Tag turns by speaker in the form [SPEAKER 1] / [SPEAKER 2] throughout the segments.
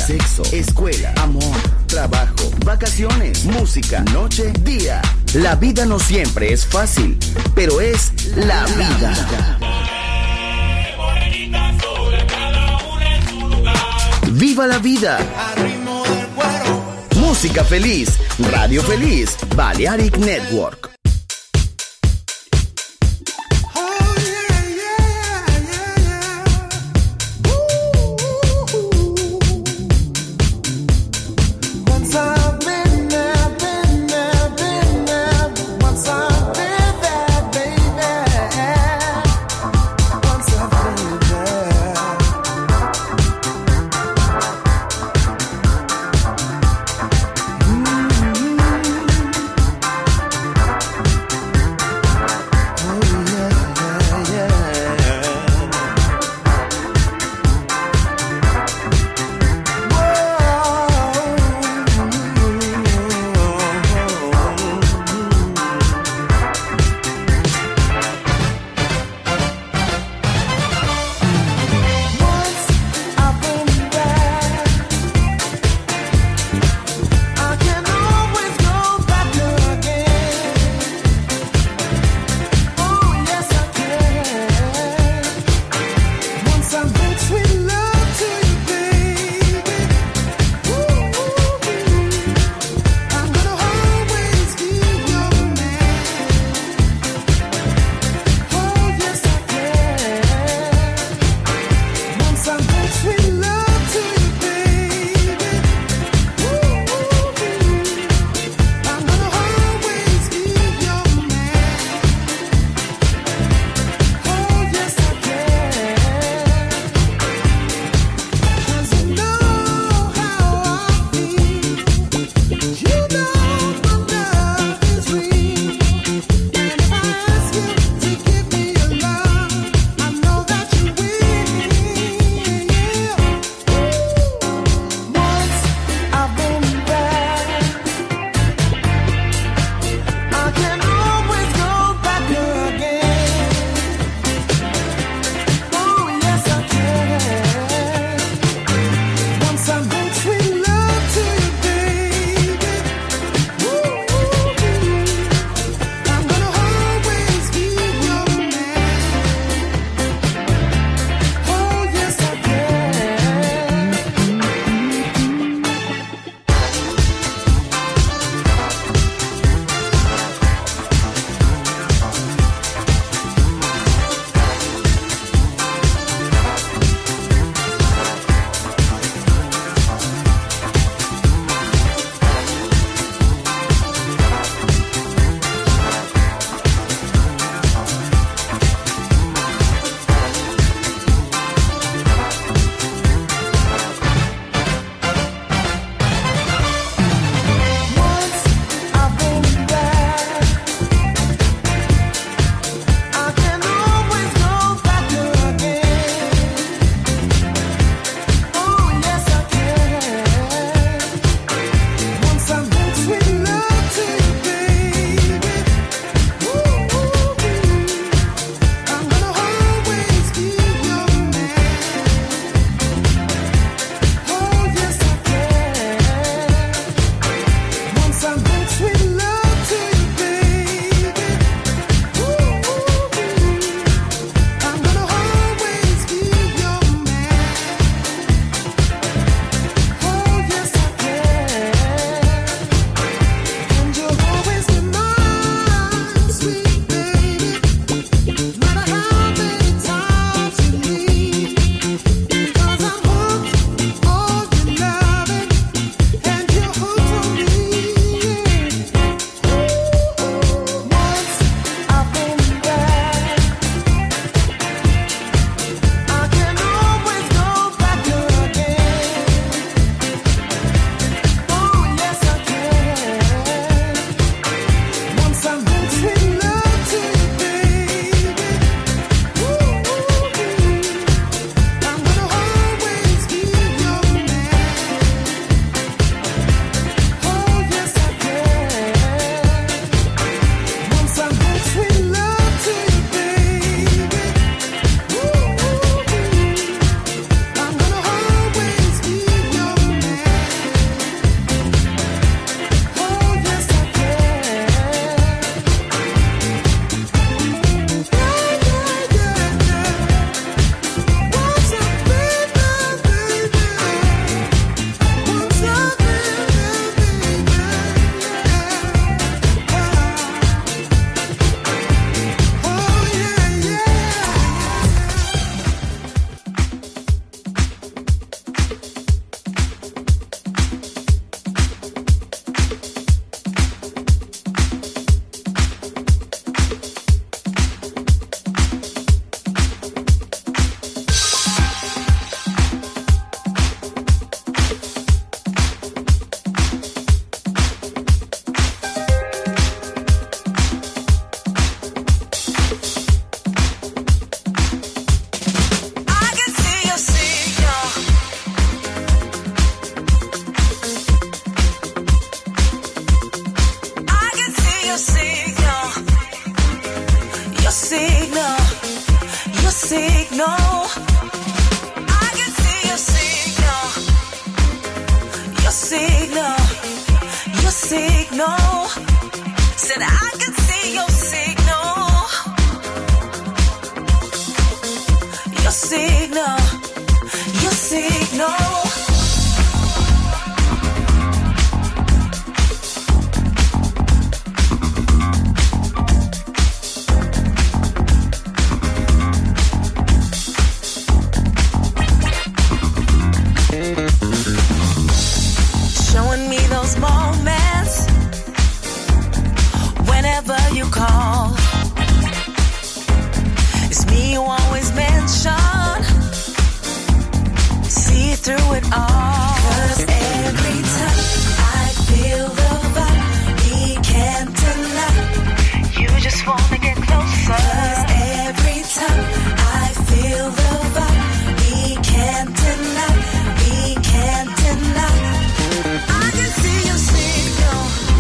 [SPEAKER 1] sexo, escuela, amor, trabajo, vacaciones, música, noche, día. La vida no siempre es fácil, pero es la vida. ¡Viva la vida! Música feliz, radio feliz, Balearic Network.
[SPEAKER 2] signal. Said I can see your signal. Your signal. Your signal. Showing me those moments whenever you call. It's me you always mention. See through it all. 'Cause every time I feel the vibe, we can't deny. You just wanna get closer. 'Cause every time I feel the vibe, we can't deny. We can't deny. I can see your signal,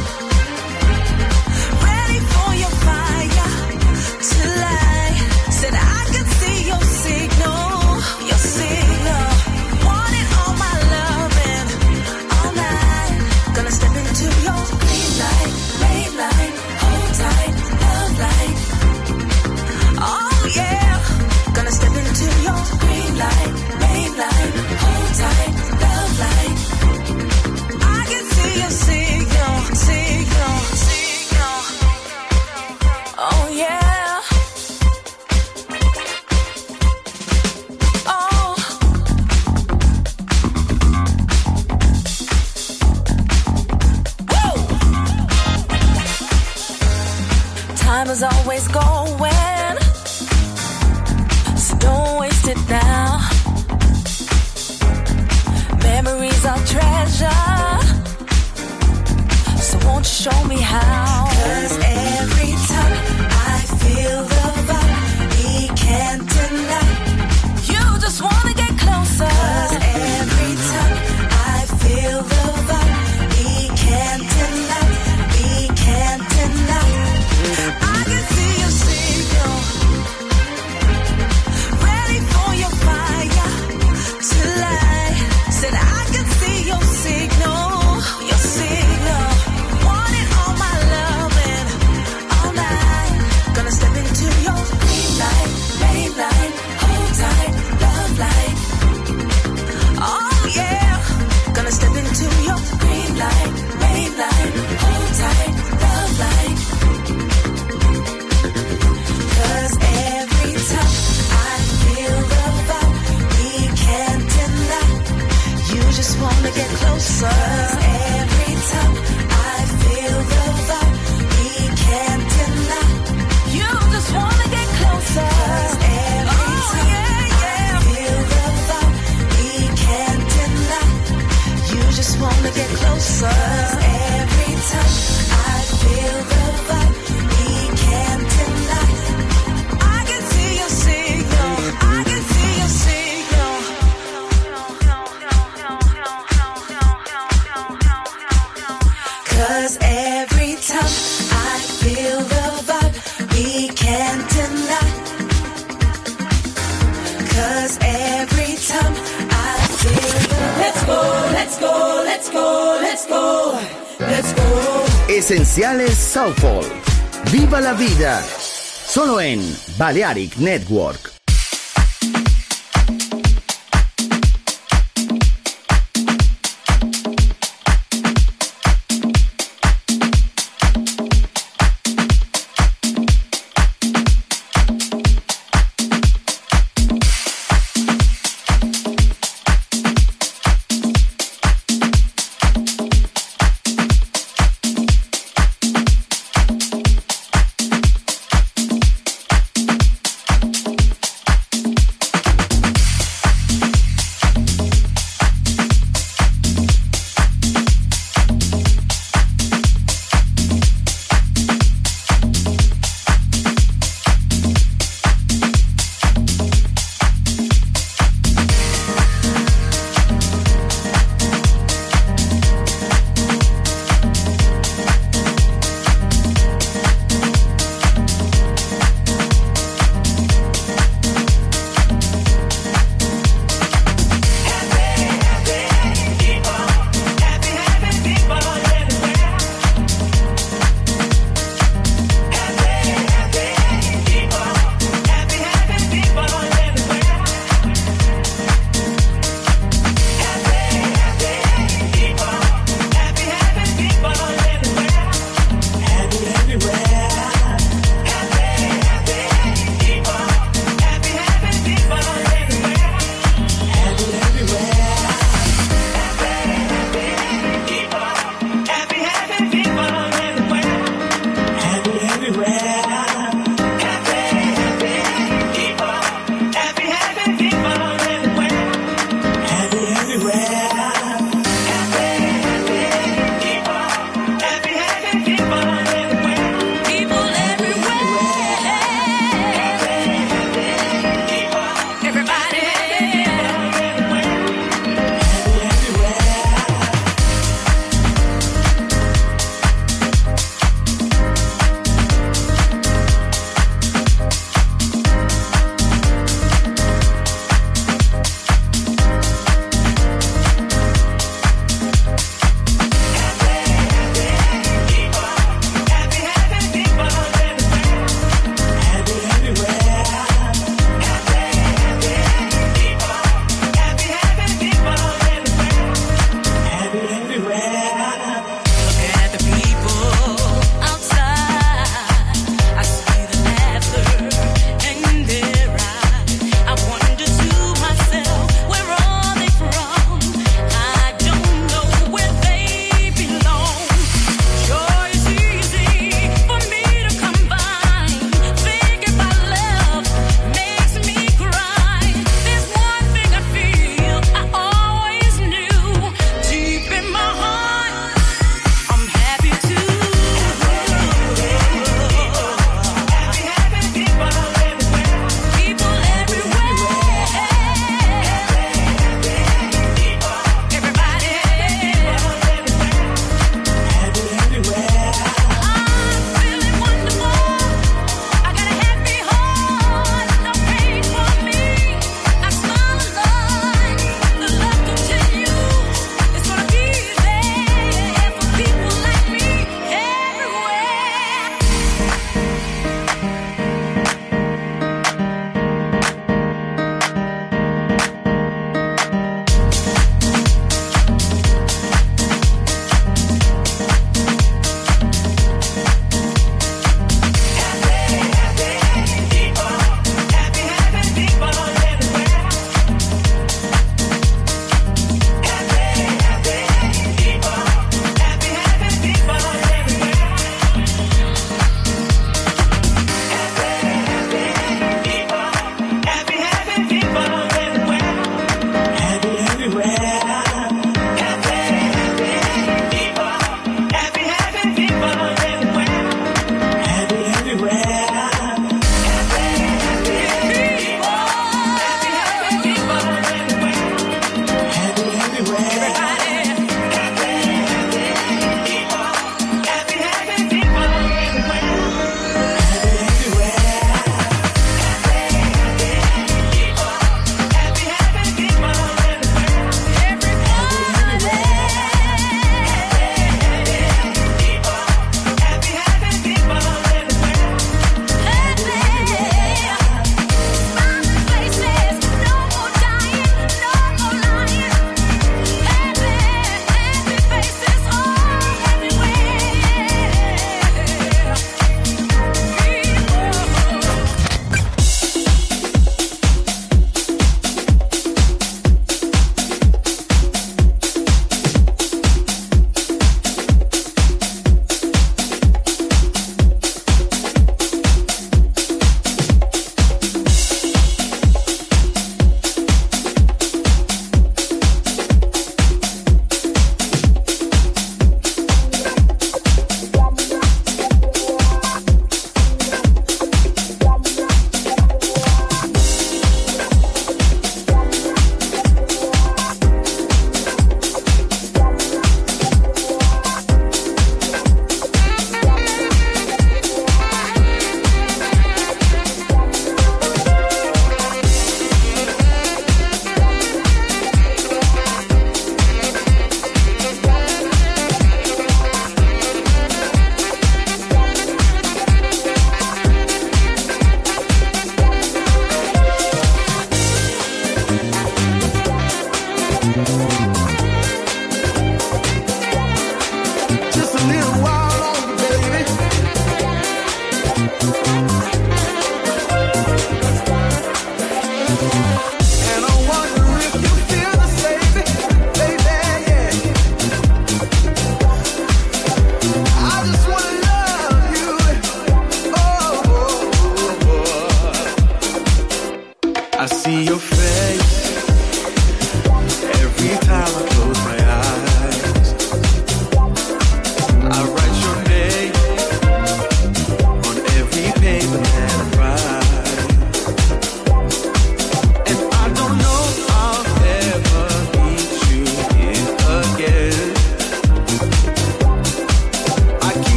[SPEAKER 2] ready for your fire to light. Said I can see your signal, your signal. Wanting all my loving all night. Gonna step into your green light, main light, hold tight, love light. Oh yeah, gonna step into your green light, main light, hold tight, love light. I can see your signal, signal, signal. Oh yeah. Oh. Woo. Time is always going, so don't waste it now. Memories are treasure, so won't you show me how? 'Cause every time I feel the vibe, we can't deny. You just wanna get closer. 'Cause every time I feel the vibe, we can't deny. We can't deny. I can see your signal, ready for your fire to light. Said I can see your signal, your signal. Wanting all my loving all night. Gonna step into your green light, main light, hold tight, love light. Oh yeah, gonna step into your green light, main light, hold tight, love light. 'Cause every time I feel the vibe, we can't deny. You just wanna get closer. 'Cause every time I feel the vibe, we can't deny. You just wanna get closer. 'Cause every time I feel the vibe, we can't deny. You just wanna get closer. 'Cause every time I feel the vibe, we can't deny. I can see your signal. I can see your signal. 'Cause every time I feel the vibe, we can't deny. 'Cause every time I feel the vibe. Let's go, let's go, let's go, let's go, let's go.
[SPEAKER 1] Esenciales Soulful. Viva la vida. Solo en Balearic Network.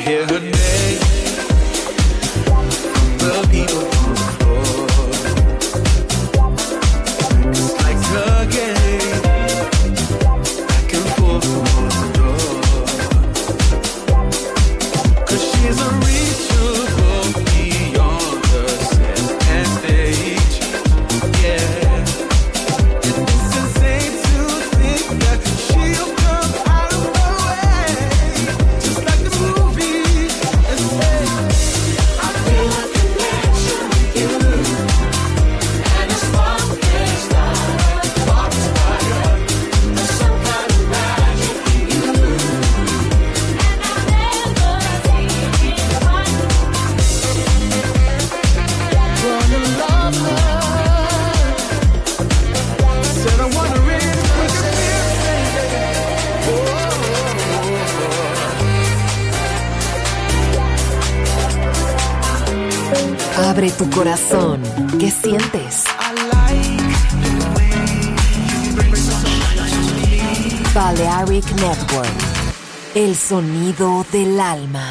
[SPEAKER 3] hear her name. The people on the floor. It's like a game, back and forth towards the door. 'Cause she's unreachable beyond the set and stage. Yeah, it's insane to think that she'll come out of the way, just like the movie. And say, I feel a connection with you, and it's one can't stop. Sparks fire, there's some kind of magic in you, and I've never seen it quite. Wanna love her. Said I wanna really make her feel, baby.
[SPEAKER 4] Abre tu corazón. ¿Qué sientes? Balearic Network. El sonido del alma.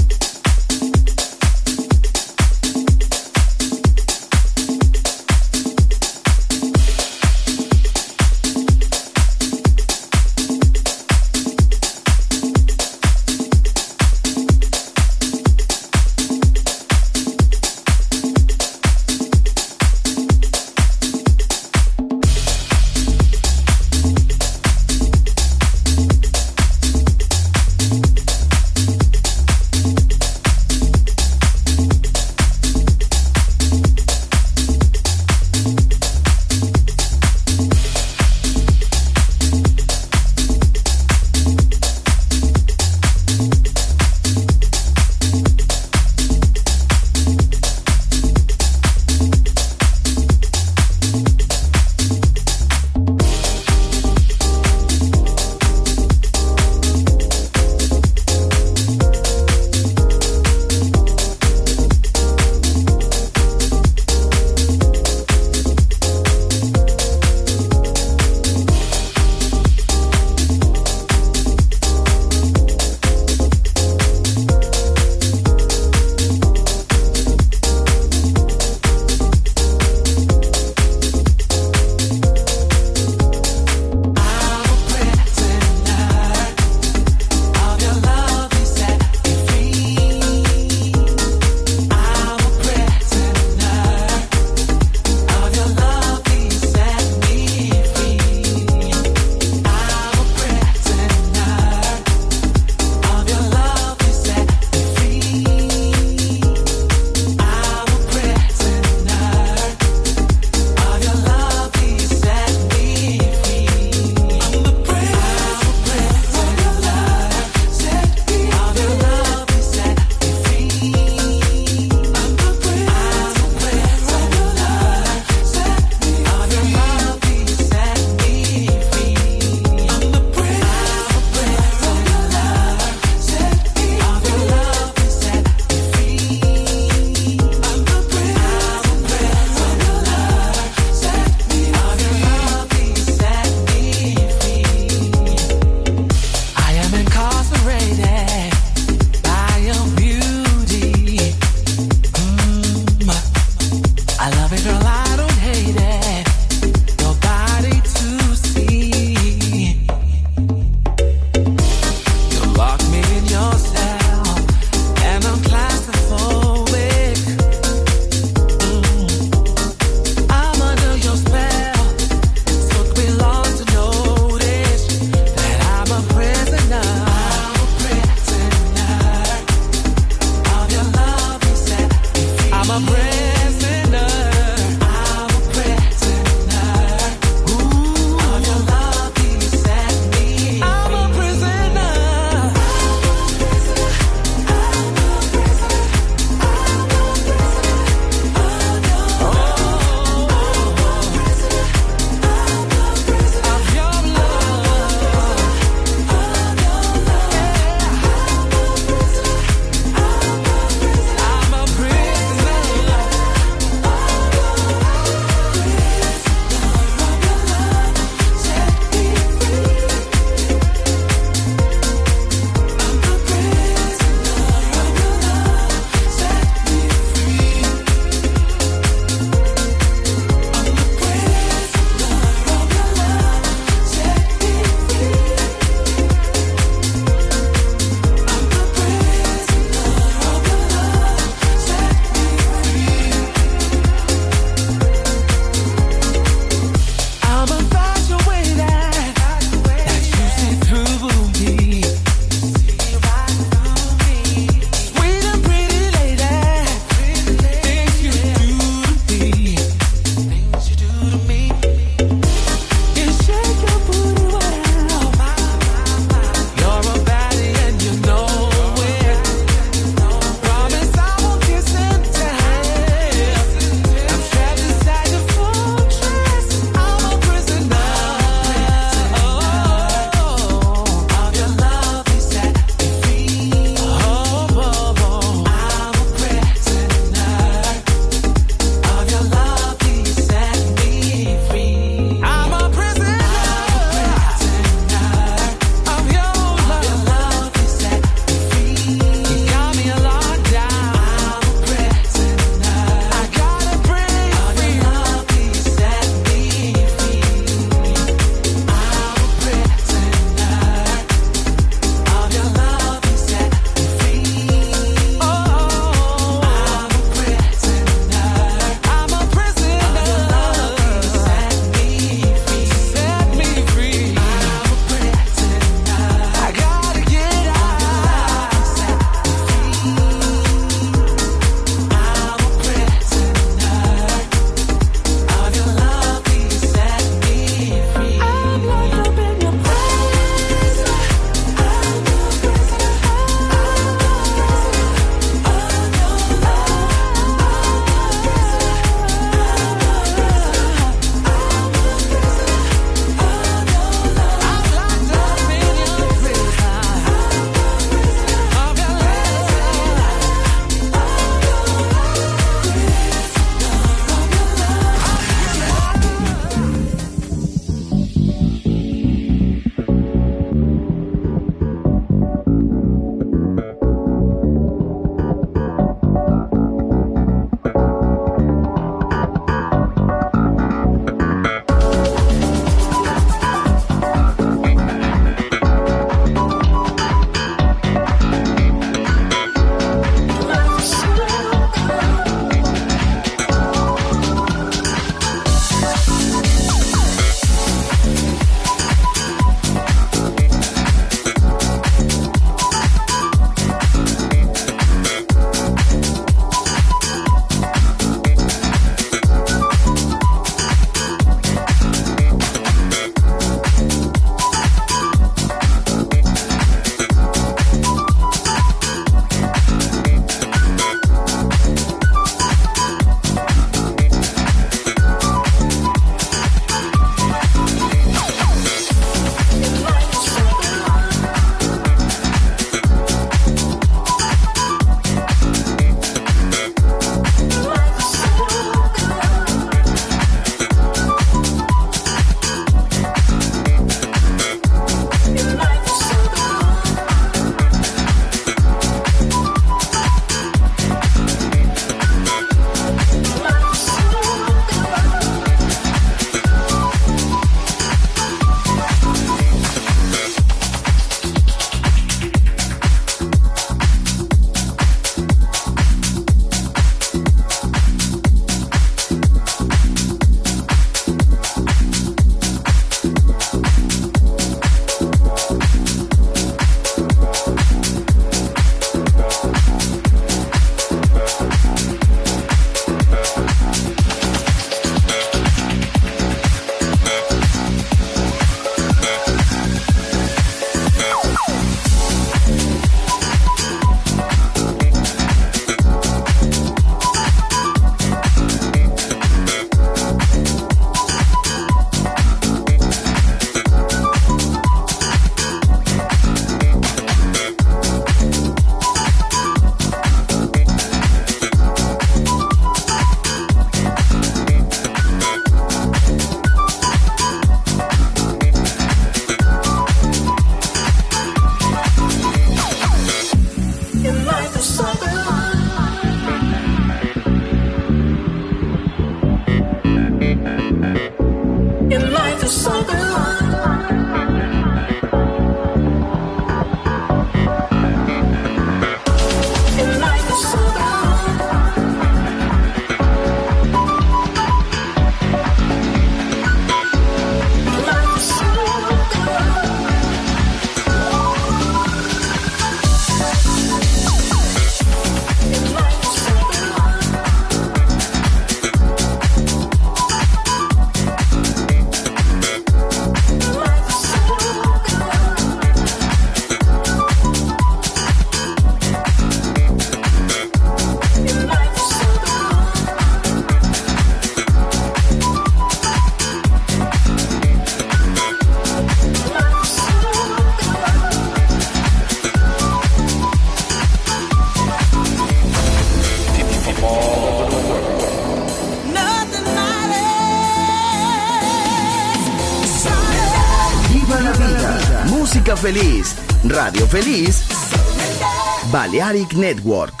[SPEAKER 1] música feliz, radio feliz, Balearic Network.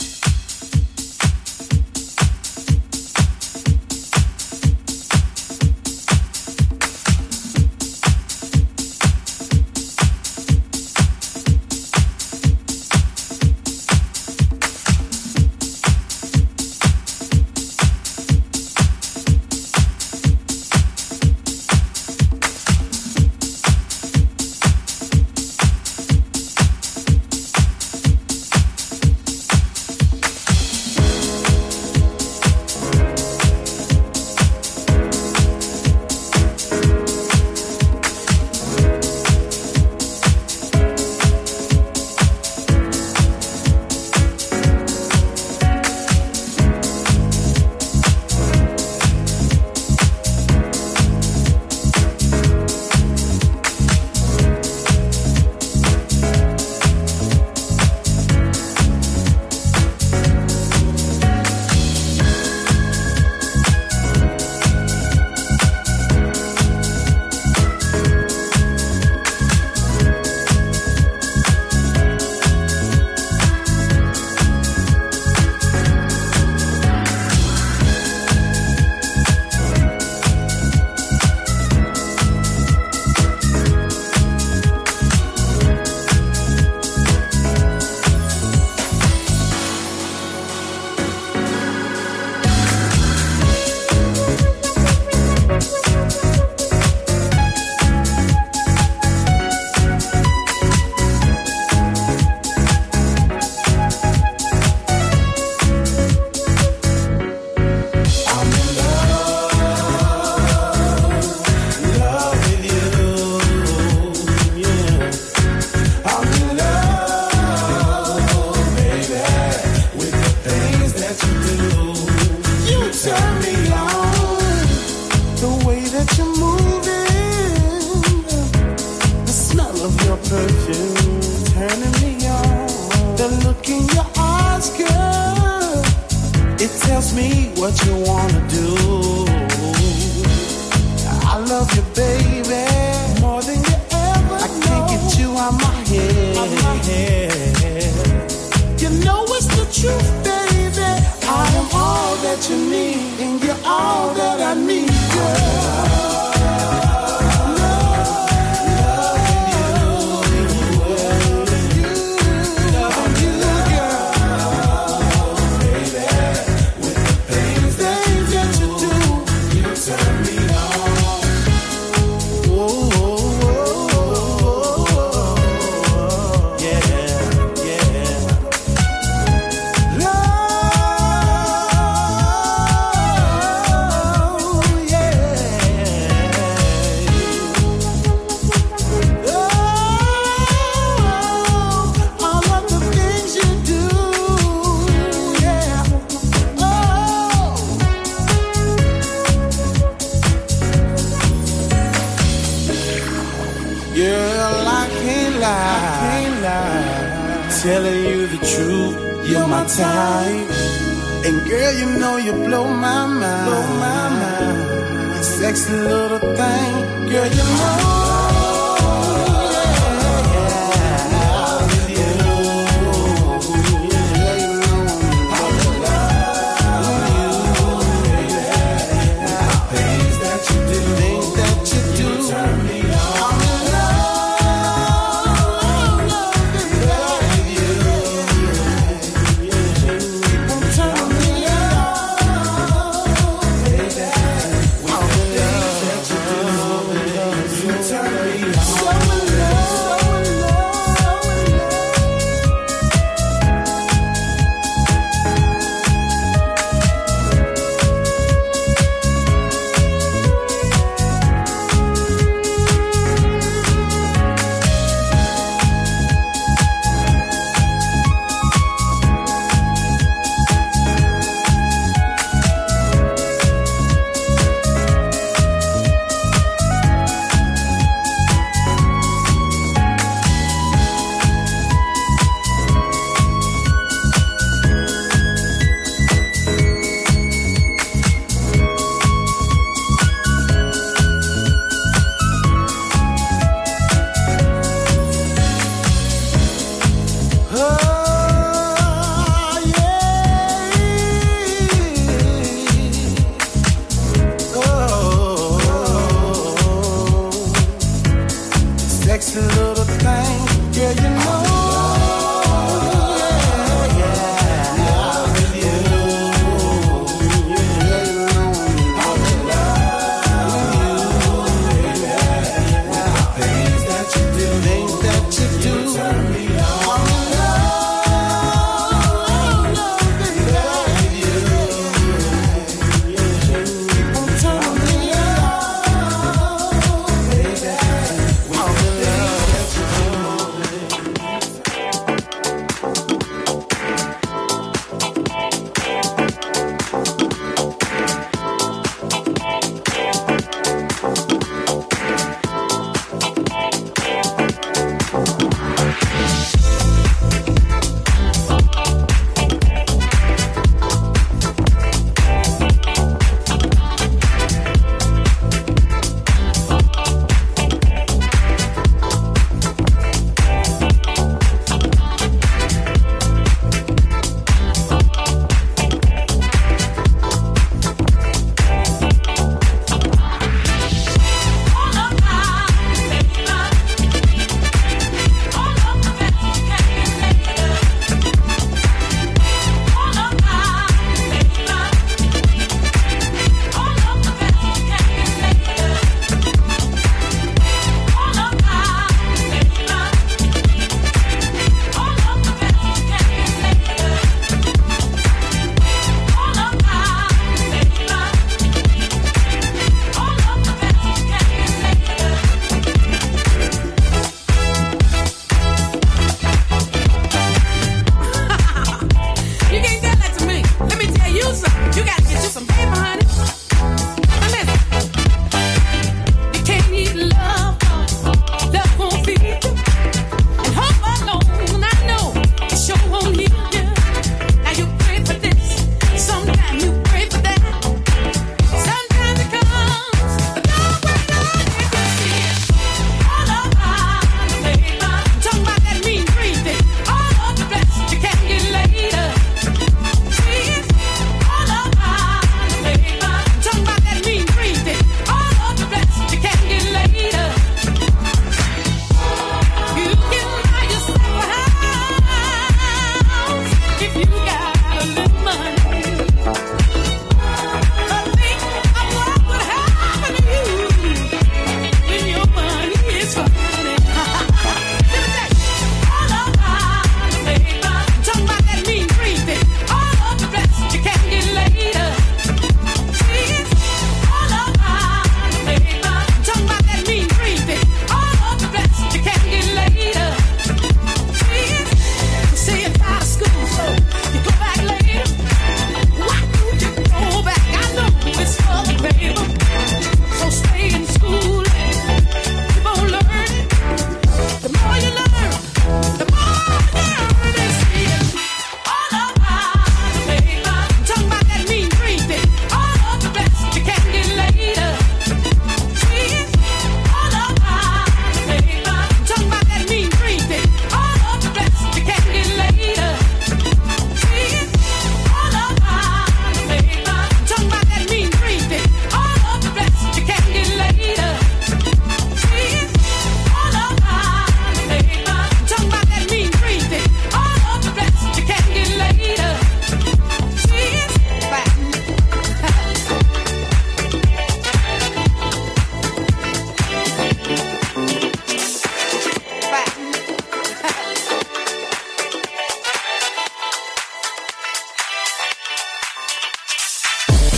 [SPEAKER 3] Telling you the truth, you're my type. And girl, you know you blow my mind. Blow my mind. You sexy little thing, girl, you know. You turn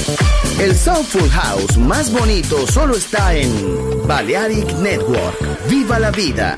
[SPEAKER 1] El Soulful House más bonito solo está en Balearic Network. ¡Viva la vida!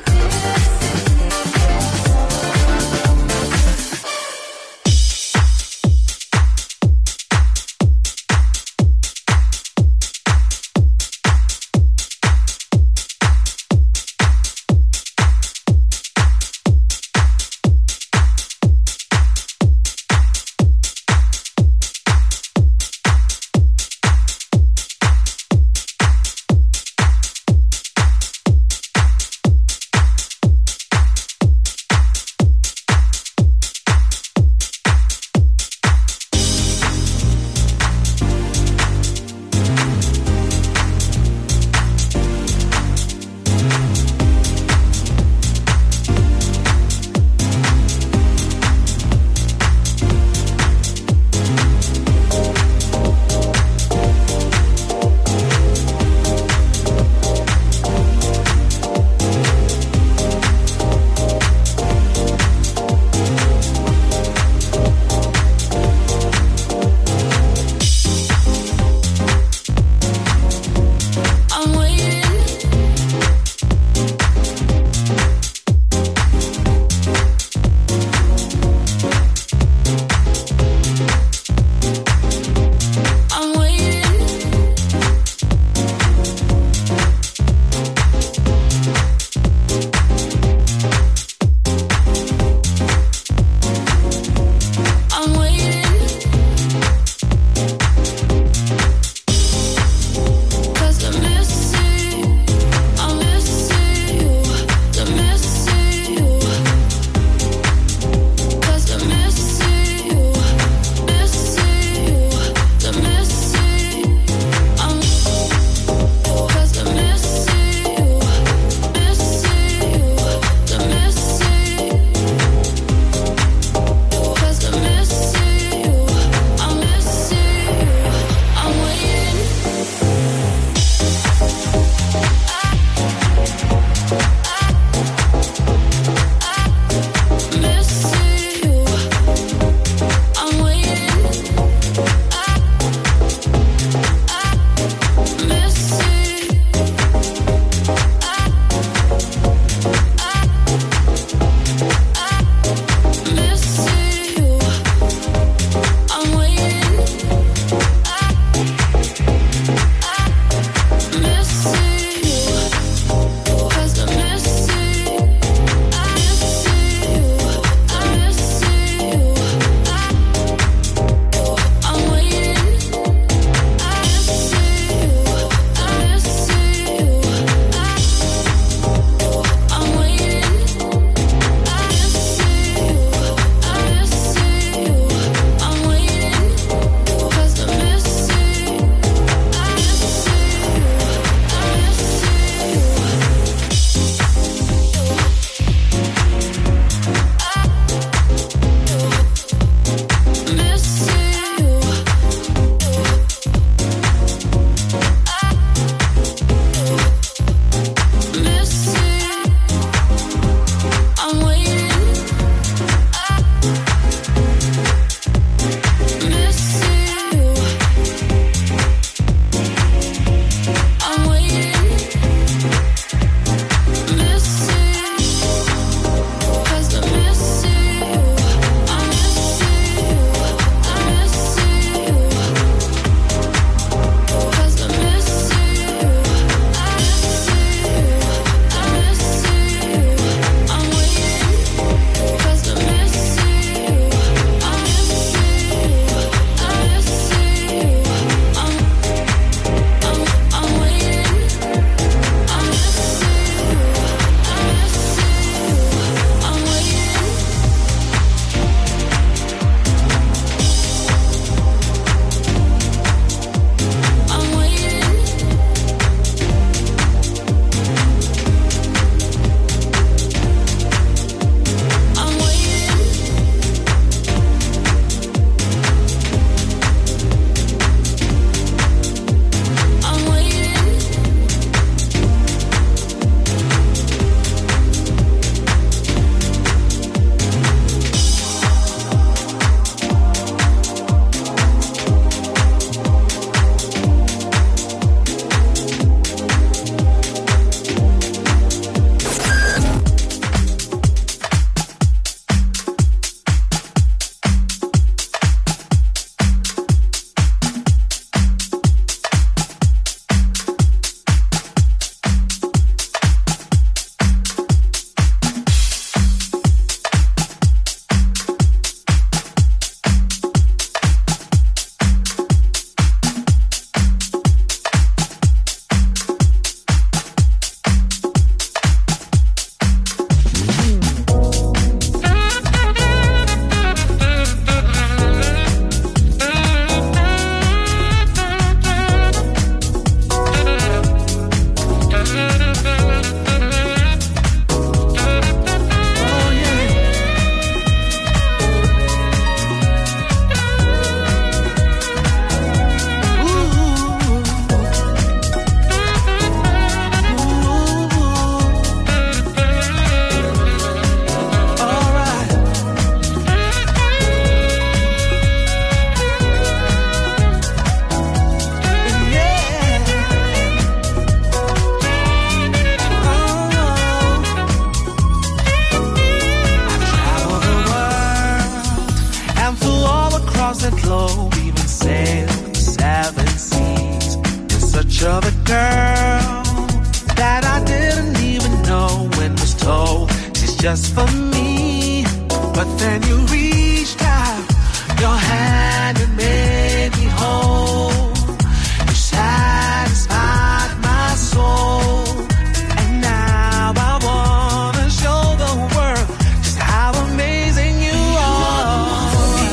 [SPEAKER 3] just for me. But then you reached out your hand and made me whole. You satisfied my soul. And now I wanna show the world just how amazing you are.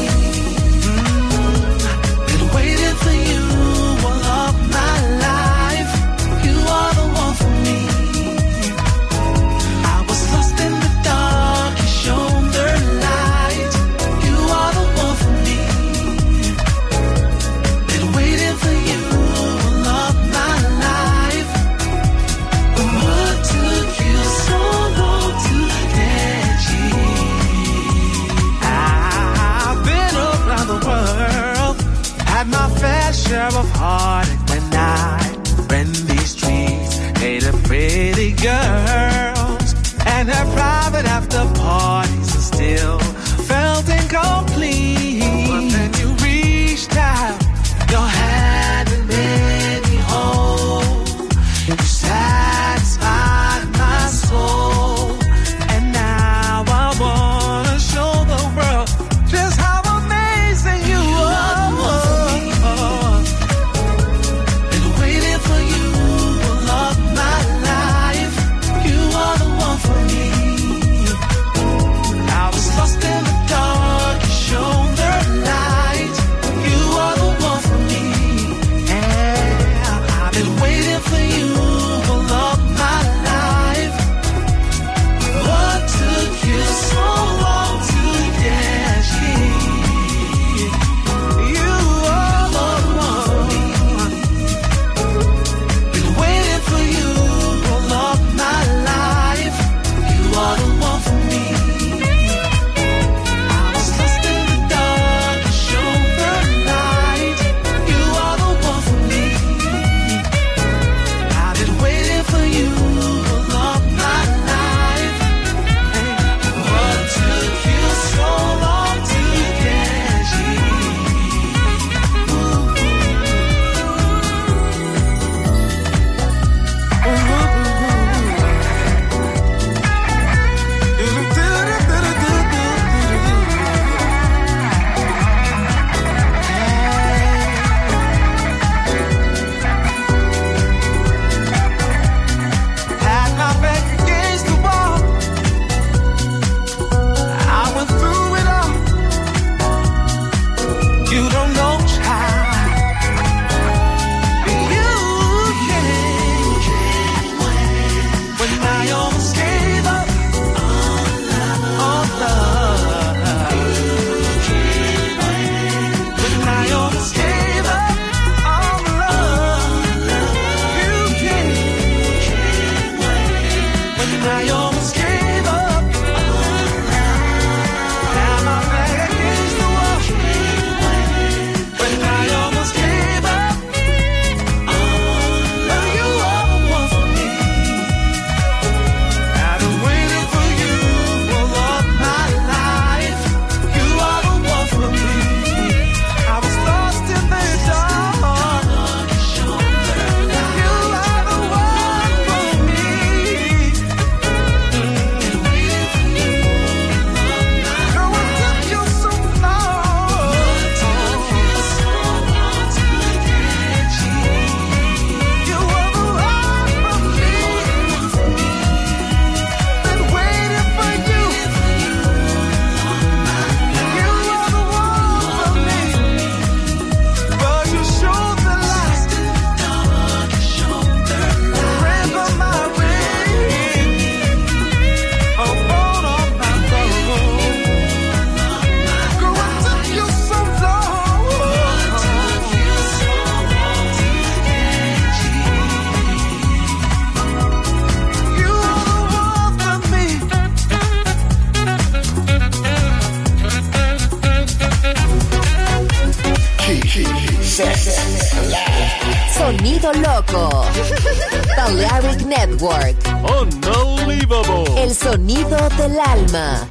[SPEAKER 3] Been waiting for you all of my life. You are the one for me. I was lost in the dark, you shone the light. You are the one for me. Been waiting for you all of my life. But what took you so long to get here? I've been around the world, had my fair share of heartache when I ran these streets, hated pretty girls and had private after parties and still felt incomplete. But then you reached out your hand and made me whole. You satisfied my soul. And now I wanna show the world just how amazing you are. Been waiting for you all of my life. You are the one for me. I was lost in the dark, you shone the light. You are the one for me. Yeah, I've been waiting for you all of my life. What took you so long to get here? You are the one for me. Been waiting for you all of my life. You are the one for me. I was lost in the dark, you shone the light. You are the one for me. I've been waiting for you all of my life. What took you so long to get Had my back against the wall. I went through it all. You don't know, child. You came when I almost gave up on love. When I almost gave up on love. You came when I almost gave up. Now my back against the wall. When I almost gave up. Now you are the one for me. I've been waiting for you all of my life. You are the one for me. I was lost in the dark. You are the one for me. Girl, what took you so long? You are the one for me. Been waiting for you. You are the one for me. But you showed the light. Ran by my way. Up on my road. Girl, what took you so long? You are the one for me.
[SPEAKER 4] Sonido loco. Balearic Network.
[SPEAKER 5] Unbelievable.
[SPEAKER 4] El sonido del alma.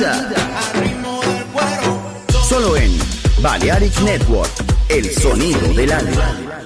[SPEAKER 1] vida. Solo en Balearic Network, el sonido del alma.